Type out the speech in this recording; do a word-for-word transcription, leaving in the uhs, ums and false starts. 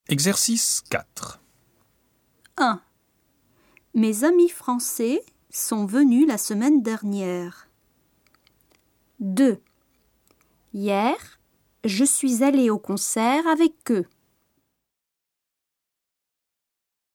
Exercice quatre. un. Mes amis français sont venus la semaine dernière. deux. Hier, je suis allée au concert avec eux.